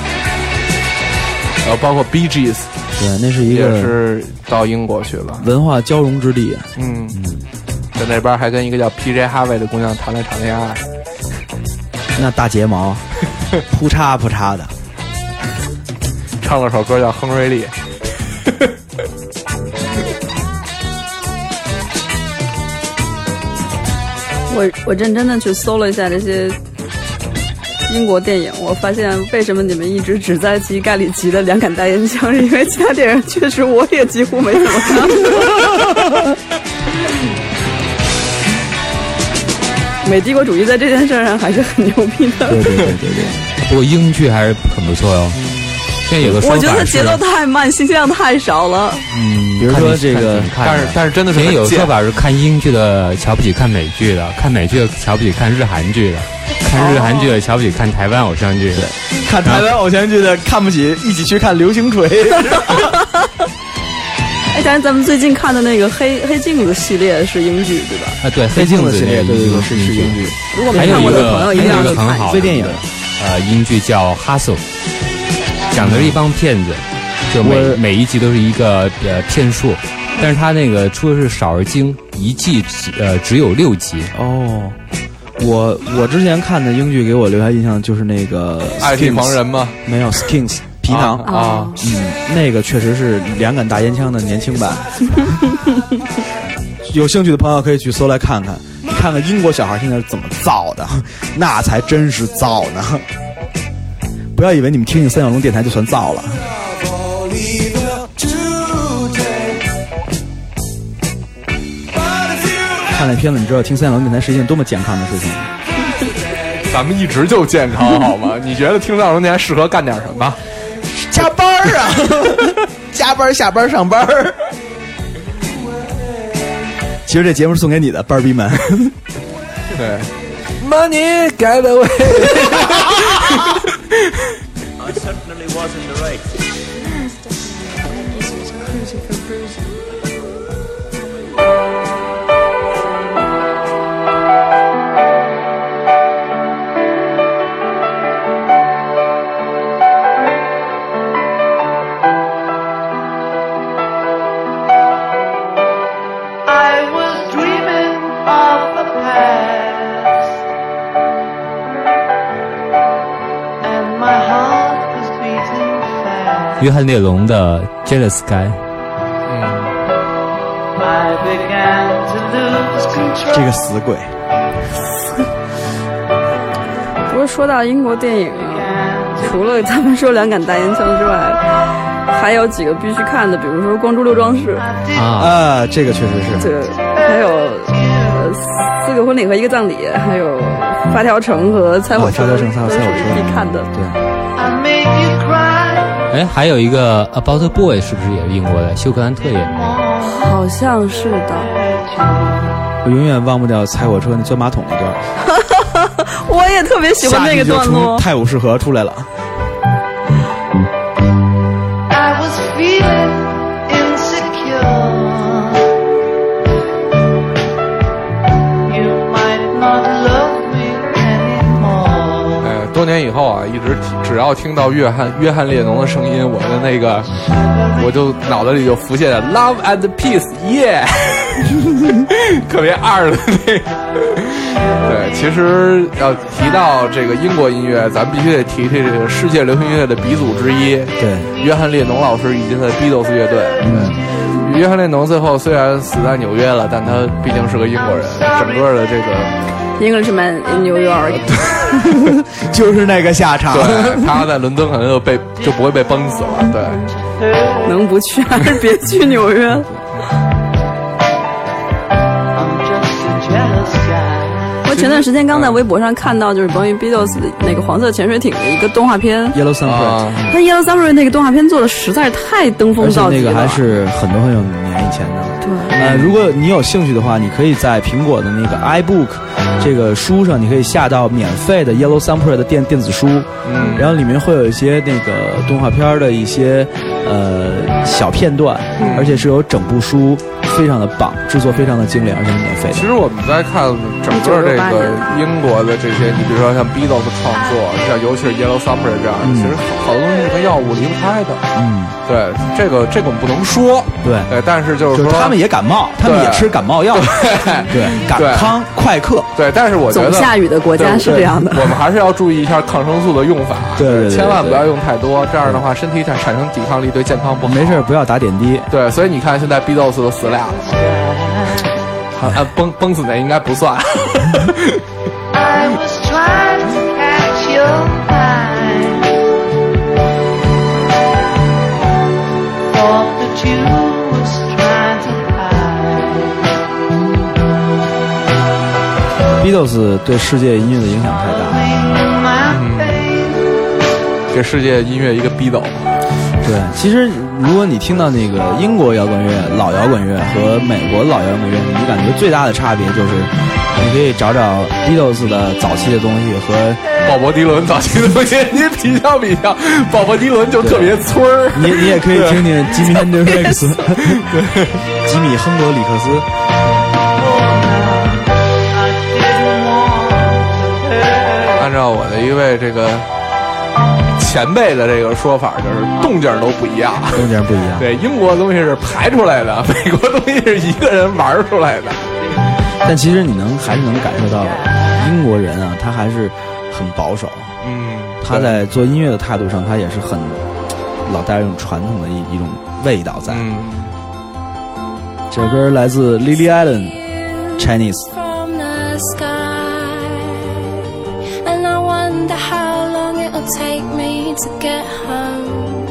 Speaker 3: 包括 Bee Gees，
Speaker 4: 对，那是一个
Speaker 3: 也是到英国去了，
Speaker 4: 文化交融之地。
Speaker 3: 在那边还跟一个叫 PJ Harvey 的姑娘谈了场恋爱，
Speaker 4: 那大睫毛，扑嚓扑嚓的，
Speaker 3: 唱了首歌叫《亨瑞利》。
Speaker 5: 我认真的去搜了一下这些英国电影，我发现为什么你们一直只在提盖里奇的两杆大烟枪，是因为其他电影确实我也几乎没怎么看。美帝国主义在这件事上还是很牛逼的。
Speaker 4: 对。
Speaker 6: 不过英剧还是很不错哟。现在有个说法是，
Speaker 5: 我觉得节奏太慢，信息量太少了。
Speaker 4: 比如说这个，
Speaker 3: 但是真的是
Speaker 6: 以前有说法是看英剧的瞧不起看美剧的，看美剧的瞧不起看日韩剧的，看日韩剧的瞧不起看台湾偶像剧的，
Speaker 4: 看台湾偶像剧的看不起一起去看流星锤。
Speaker 5: 哎，但是咱们最近看的那个黑镜子系列是英剧对吧？
Speaker 6: 啊，对，黑镜子
Speaker 4: 系列对是英剧。
Speaker 5: 如果没看过的朋友一定要去看。
Speaker 6: 很好
Speaker 4: 微电影，
Speaker 6: 英剧叫《Hustle》，讲的是一帮骗子，就每一集都是一个骗术，但是他那个出的是少而精，一季只有6集。
Speaker 4: 哦，我之前看的英剧给我留下印象就是那个
Speaker 3: 爱听盲人吗？
Speaker 4: 没有 Skins 皮囊
Speaker 3: 啊，
Speaker 4: 那个确实是两杆大烟枪的年轻版。有兴趣的朋友可以去搜来看看，你看看英国小孩现在是怎么造的，那才真是造呢。不要以为你们听听三角龙电台就算造了。看那片子，你知道听三角龙电台是一件多么健康的事情。
Speaker 3: 咱们一直就健康好吗？你觉得听三角龙电台适合干点什么？
Speaker 4: 加班啊，加班下班上班。其实这节目是送给你的，班儿逼们。
Speaker 3: 对 ，Money get away。
Speaker 8: I certainly was in the right.
Speaker 2: I was dreaming of the past, and my heart was beating fast.
Speaker 6: 约翰列侬的《Jealous Guy》。
Speaker 2: I began to lose control.
Speaker 4: 这个死鬼。
Speaker 5: 不过说到英国电影啊，除了他们说两杆大烟枪之外，还有几个必须看的，比如说《光珠六壮士》
Speaker 4: 这个确实是。
Speaker 5: 这还有4个婚礼和1个葬礼，还有《发条城》和《猜火车》，
Speaker 4: 发条城、猜火车
Speaker 5: 必看的。
Speaker 4: 对。
Speaker 2: I made you cry.
Speaker 6: 哎，还有一个《About a Boy》是不是也是英国的？休克兰特演的。
Speaker 5: 好像是的。
Speaker 4: 我永远忘不掉踩火车那钻马桶那段。
Speaker 5: 我也特别喜欢那个段落。
Speaker 4: 泰晤士河出来了。
Speaker 2: I was feeling insecure. You might not love me anymore.
Speaker 3: 多年以后啊，一直只要听到约翰列侬的声音，我的那个我就脑子里就浮现了 Love and Peace， 耶、特别二的那个。对，其实要提到这个英国音乐，咱们必须得提提这个世界流行音乐的鼻祖之一，
Speaker 4: 对，
Speaker 3: 约翰列侬老师以及他的 Beatles 乐队。约翰列侬最后虽然死在纽约了，但他毕竟是个英国人，整个的这个
Speaker 5: Englishman in New York，
Speaker 4: 就是那个下场。
Speaker 3: 对，他在伦敦可能就不会被崩死了。对，
Speaker 5: 能不去还是别去纽约。我前段时间刚在微博上看到，就是关于 Beatles 的那个黄色潜水艇的一个动画片
Speaker 4: Yellow Submarine，
Speaker 5: 他 Yellow Submarine 那个动画片做的实在是太登峰造极了，
Speaker 4: 那个还是很多年以前的。
Speaker 5: 对，
Speaker 4: 如果你有兴趣的话，你可以在苹果的那个 iBook 这个书上，你可以下到免费的 Yellow Submarine 的电子书，然后里面会有一些那个动画片的一些小片段，而且是有整部书。非常的棒，制作非常的精良，而且是免费的。
Speaker 3: 其实我们在看整个这个英国的这些，你比如说像 Beatles 的创作，像尤其是 Yellow Submarine 这样，其实好多东西是跟药物离不开的。对，这个我们不能说。对，但是就是说
Speaker 4: 他们也感冒，他们也吃感冒药。对，感康快克。
Speaker 3: 对，但是我觉得
Speaker 5: 总下雨的国家是这样的。
Speaker 3: 我们还是要注意一下抗生素的用法。
Speaker 4: 对，
Speaker 3: 千万不要用太多，这样的话身体产生抵抗力，对健康不好。
Speaker 4: 没事，不要打点滴。
Speaker 3: 对，所以你看现在 Beatles 都死俩了嘛。崩死那应该不算。
Speaker 9: I was trying to catch your eye, thought that you was trying to hide.
Speaker 4: Beatles 对世界音乐的影响太大。
Speaker 3: 给世界音乐一个逼斗。
Speaker 4: 对，其实如果你听到那个英国摇滚乐、老摇滚乐和美国老摇滚乐，你感觉最大的差别就是，你可以找找 Beatles 的早期的东西和
Speaker 3: 鲍勃迪伦早期的东西，你比较，鲍勃迪伦就特别村儿。
Speaker 4: 你也可以听听吉米·亨德里克斯，对，吉米·亨德里克斯。
Speaker 3: 按照我的一位这个前辈的这个说法，就是动静都不一样，
Speaker 4: 动静不一样。
Speaker 3: 对，英国的东西是排出来的，美国东西是一个人玩出来的。
Speaker 4: 但其实你还是能感受到，英国人啊，他还是很保守。他在做音乐的态度上，他也是很老带一种传统的一种味道在。这首歌来自 Lily Allen Chinese。
Speaker 10: Take me to get home.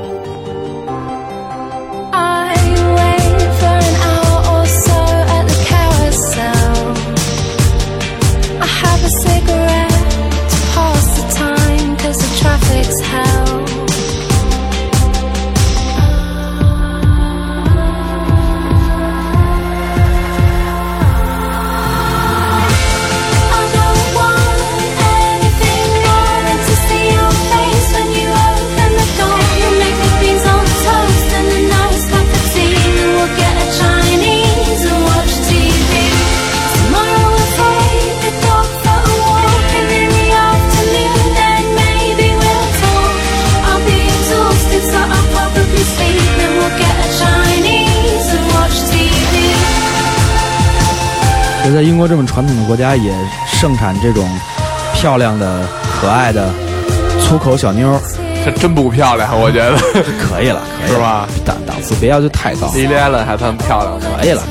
Speaker 10: I wait for an hour or so at the carousel. I have a cigarette to pass the time 'cause the traffic's hell.
Speaker 4: 在英国这么传统的国家，也盛产这种漂亮的、可爱的粗口小妞。
Speaker 3: 这真不漂亮，我觉得
Speaker 4: 可以了，
Speaker 3: 是吧？
Speaker 4: 档次别要求太高。
Speaker 3: Lily Allen 还算漂亮的，
Speaker 4: 可以了。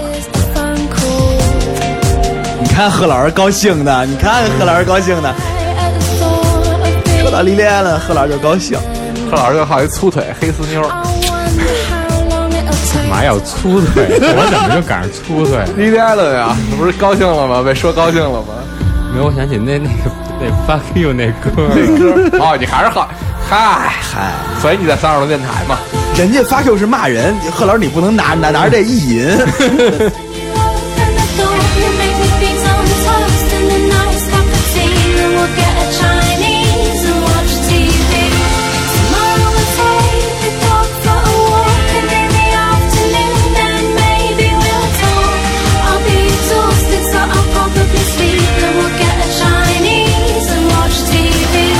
Speaker 4: 你看贺老师高兴的，说到 Lily Allen， 贺老师就高兴。
Speaker 3: 贺老师就好一粗腿黑丝妞。
Speaker 6: 干嘛要粗腿？我怎么就赶上粗腿
Speaker 3: ？Lily Allen 呀，不是高兴了吗？被说高兴了吗？
Speaker 6: 没有，我想起那 Fuck You 那歌。
Speaker 3: 哦，你还是好。嗨，所以你在三十多电台嘛？
Speaker 4: 人家 Fuck You 是骂人，贺老师你不能拿着这意淫。
Speaker 10: I'll probably sleep and we'll get a Chinese and watch TV.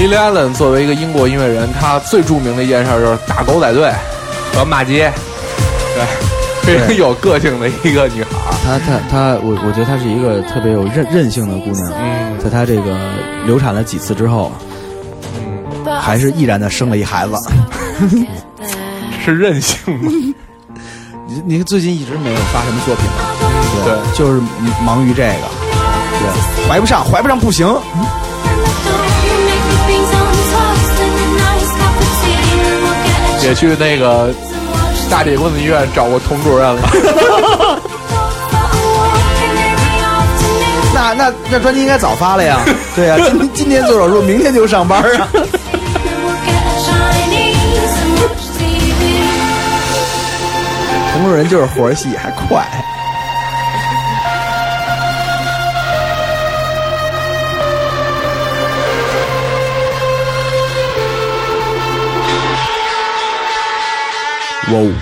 Speaker 3: Lily Allen 作为一个英国音乐人，他最著名的一件事就是打狗仔队和骂街，对，非常有个性的一个女孩。
Speaker 4: 我觉得她是一个特别有韧性的姑娘。在她这个流产了几次之后，还是毅然的生了一孩子。
Speaker 3: 是任性吗？
Speaker 4: 你最近一直没有发什么作品了，对，就是忙于这个，对，怀不上不行。
Speaker 3: 也去那个大铁棍子医院找过童主任了。
Speaker 4: 那专辑应该早发了呀。对呀，今天做手术，明天就上班啊。同路人就是活细还快。哇哦！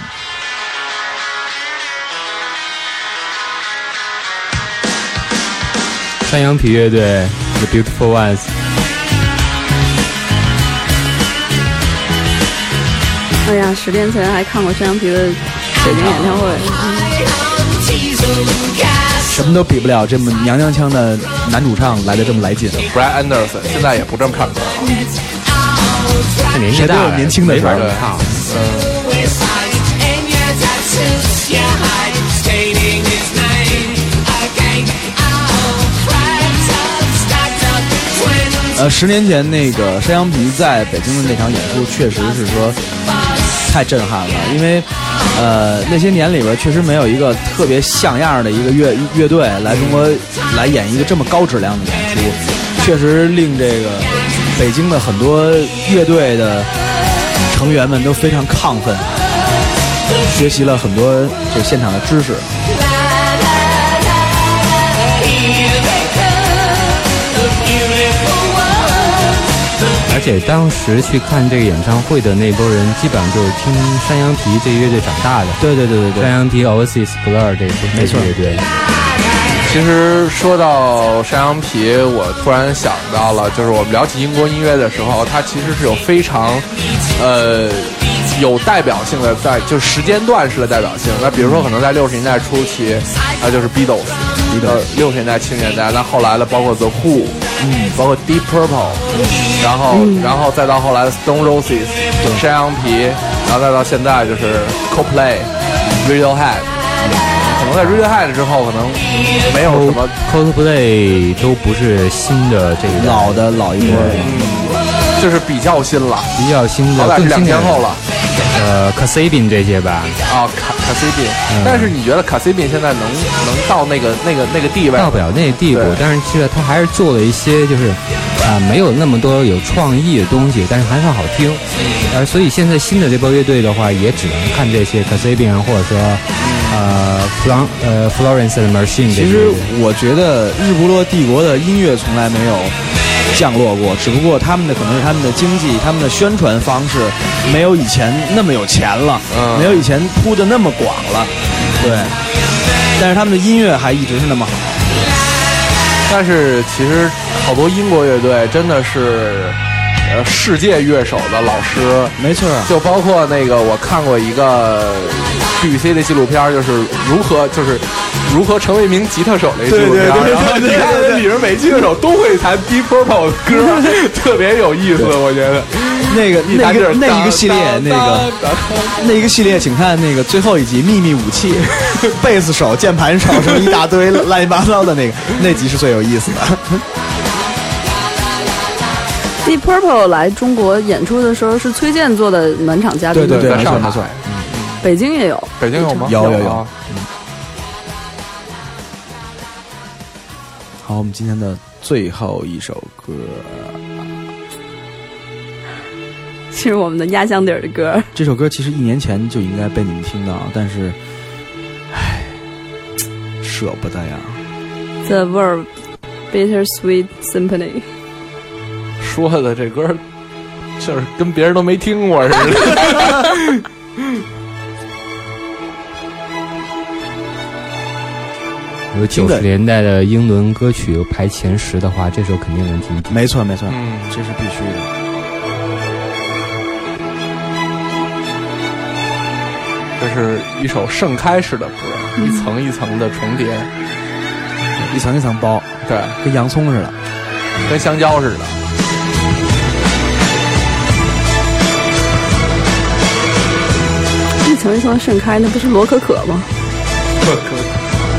Speaker 6: 山羊皮乐队 The Beautiful Ones。
Speaker 5: 哎呀，10年前还看过山羊皮的北京演唱会。
Speaker 4: 什么都比不了这么娘娘腔的男主唱来的这么来劲。
Speaker 3: Brad Anderson 现在也不这么唱歌了，
Speaker 6: 他年纪大了，
Speaker 4: 年轻的时候
Speaker 6: 唱。
Speaker 4: 10年前那个山羊皮在北京的那场演出，确实是说太震撼了，因为那些年里边确实没有一个特别像样的一个乐队来中国来演一个这么高质量的演出，确实令这个北京的很多乐队的成员们都非常亢奋，学习了很多这现场的知识。
Speaker 6: 而且当时去看这个演唱会的那波人，基本上就是听山羊皮这个乐队长大的。
Speaker 4: 对，
Speaker 6: 山羊皮 Oasis Blur 这支乐队。
Speaker 3: 其实说到山羊皮，我突然想到了，就是我们聊起英国音乐的时候，它其实是有非常有代表性的，就时间段式的代表性。那比如说可能在60年代初期，那就是 Beatles，60年代70年代，那后来的包括 The Who，包括 Deep Purple，然后再到后来的 Stone Roses，山羊皮，然后再到现在就是 Coldplay、Radiohead。可能在 Radiohead 之后，可能没有什么
Speaker 6: Coldplay 都不是新的这个
Speaker 4: 老一波，
Speaker 3: 就是比较新了，
Speaker 6: 的，
Speaker 3: 更新2天后了。
Speaker 6: Kasabian 这些吧。
Speaker 3: Kasabian，但是你觉得 Kasabian 现在能到那个地位？
Speaker 6: 到不了那个地步，但是其实他还是做了一些就是没有那么多有创意的东西，但是还算好听。所以现在新的这波乐队的话，也只能看这些 Kasabian 或者说Florence and Machine。
Speaker 4: 其实我觉得日不落帝国的音乐从来没有降落过，只不过他们的可能是他们的经济、他们的宣传方式没有以前那么有钱了，没有以前铺的那么广了，对。但是他们的音乐还一直是那么好。
Speaker 3: 但是其实好多英国乐队真的是世界乐手的老师，
Speaker 4: 没错，
Speaker 3: 就包括那个我看过一个 BBC 的纪录片，就是如何成为一名吉他手的一个纪录片，然后你看里面每吉他手都会弹 Deep Purple 的歌，特别有意思，我觉得。
Speaker 4: 那一个系列，那一个系列，请看那个最后一集《秘密武器》，贝斯手、键盘手什么一大堆乱七八糟的那集是最有意思的。
Speaker 5: Deep Purple 来中国演出的时候是崔健做的暖场嘉宾，
Speaker 4: 对，没错。
Speaker 5: 北京也有，
Speaker 3: 北京有吗？
Speaker 4: 有。好，我们今天的最后一首歌。
Speaker 5: 是我们的压箱底儿的歌。
Speaker 4: 这首歌其实1年前就应该被你们听到，但是，舍不得呀。
Speaker 5: The Verve Bittersweet Symphony。
Speaker 3: 说的这歌，就是跟别人都没听过似的。
Speaker 6: 如果90年代的英伦歌曲排前10的话，这首肯定能听听。
Speaker 4: 没错没错，这是必须的。
Speaker 3: 这是一首盛开式的歌，一层一层的重叠，
Speaker 4: 一层一层包，
Speaker 3: 对，
Speaker 4: 跟洋葱似的，
Speaker 3: 跟香蕉似的。
Speaker 5: 一层一层盛开，那不是罗可可吗？
Speaker 3: 罗可可。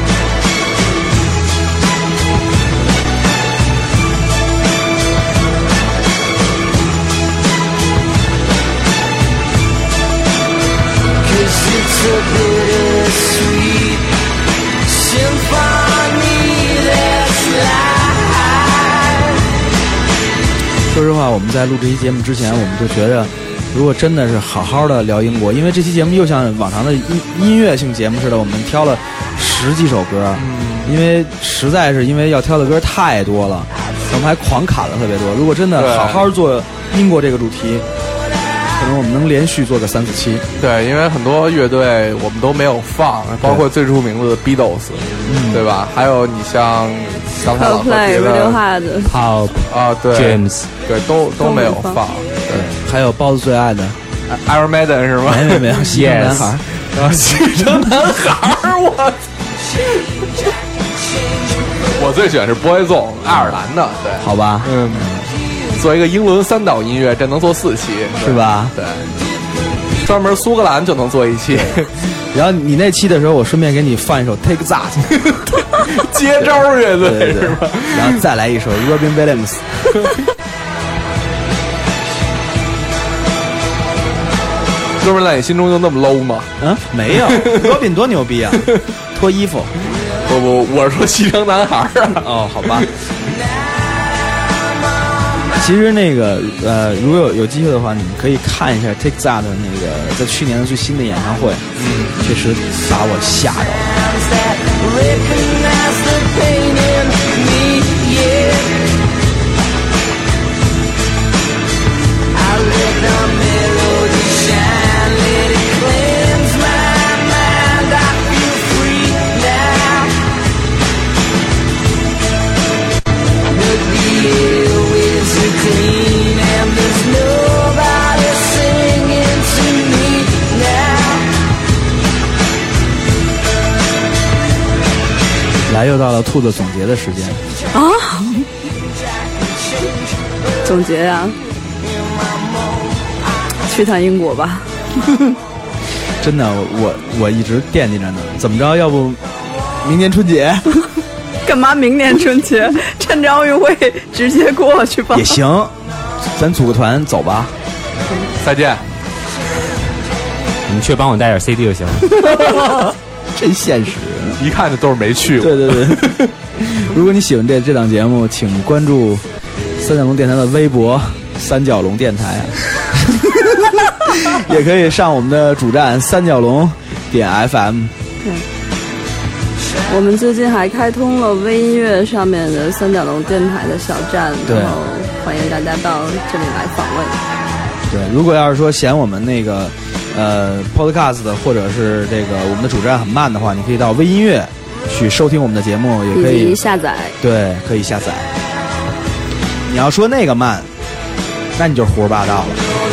Speaker 4: 说实话，我们在录这期节目之前，我们就觉着，如果真的是好好的聊英国，因为这期节目又像往常的音乐性节目似的，我们挑了10几首歌，因为实在是因为要挑的歌太多了，我们还狂砍了特别多。如果真的好好做英国这个主题，可能我们能连续做个3、4期。
Speaker 3: 对，因为很多乐队我们都没有放，包括最出名的 Beatles，对吧？还有你像刚才老何提的
Speaker 6: Pop
Speaker 3: 啊，对
Speaker 6: James，
Speaker 3: 对，都没有放。
Speaker 4: 对，还有包子最爱的
Speaker 3: Iron Maiden 是吗？
Speaker 4: 没有，西城男孩，
Speaker 3: 啊，西城男孩，我最喜欢是 Boyzone， 爱尔兰的，对，
Speaker 4: 好吧，
Speaker 3: 做一个英伦3岛音乐，这能做4期，
Speaker 4: 是吧？
Speaker 3: 对，专门苏格兰就能做1期。
Speaker 4: 然后你那期的时候，我顺便给你放一首 Take That，
Speaker 3: 接招乐队是吧？
Speaker 4: 然后再来一首 Robin Williams。
Speaker 3: 哥们儿在你心中就那么 low 吗？
Speaker 4: 没有，Robin 多牛逼啊！脱衣服。
Speaker 3: 不，我是说西城男孩啊。
Speaker 4: 哦，好吧。其实那个如果有机会的话，你们可以看一下 Take That 的那个在去年的最新的演唱会，确实把我吓着来，又到了兔子总结的时间
Speaker 5: 啊！总结呀、去趟英国吧。
Speaker 4: 真的，我一直惦记着呢。怎么着？要不明年春节？
Speaker 5: 干嘛明年春节？趁着奥运会直接过去吧。
Speaker 4: 也行，咱组个团走吧。
Speaker 3: 再见。
Speaker 6: 你去帮我带点 CD 就行了。
Speaker 4: 真现实，
Speaker 3: 一看就都是没去过。
Speaker 4: 对。如果你喜欢这档节目，请关注三角龙电台的微博三角龙电台，也可以上我们的主站三角龙点 FM。
Speaker 5: 对，我们最近还开通了微音乐上面的三角龙电台的小站，然后欢迎大家到这里来访问。
Speaker 4: 对，如果要是说嫌我们那个podcast 或者是这个我们的主站很慢的话，你可以到微音乐去收听我们的节目，也可以
Speaker 5: 下载。
Speaker 4: 对，可以下载。你要说那个慢，那你就胡说八道了。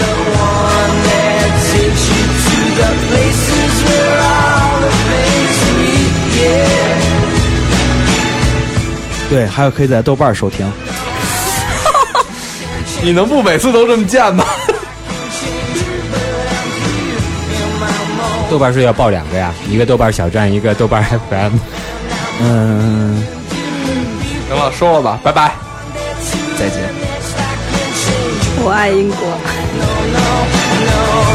Speaker 4: 对，还有可以在豆瓣收听。
Speaker 3: 你能不每次都这么贱吗？
Speaker 6: 豆瓣是要报2个呀，一个豆瓣小站，一个豆瓣 FM。
Speaker 3: 行了，收了吧，拜拜，
Speaker 4: 再见。
Speaker 5: 我爱英国。